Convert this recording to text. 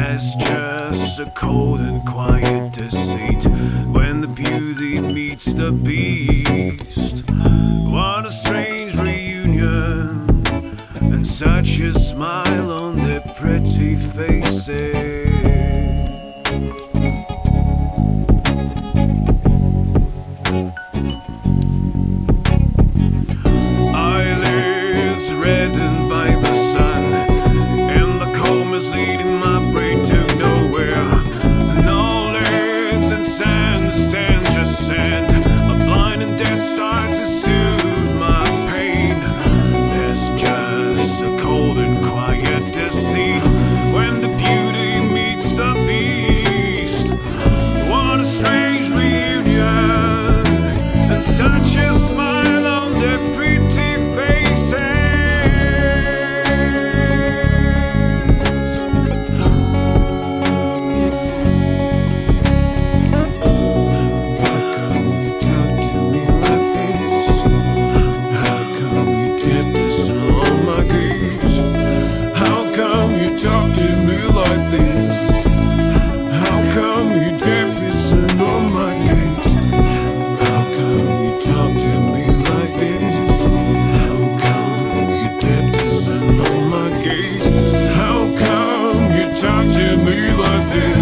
There's just a cold and quiet deceit when the beauty meets the beast. What a strange reunion, and such a smile on their pretty faces. Eyelids reddened by the sun, and the comb is leading my brain to nowhere. Knowledge and sand, sand, just sand. A blind and dead star to soothe my pain. There's just a cold and quiet deceit when the beauty meets the beast. What a strange reunion, and such a smile on their pretty faces. Talk to me like this. How come you kept pissing on my gate? How come you talk to me like this? How come you kept pissing on my gate? How come you talk to me like this?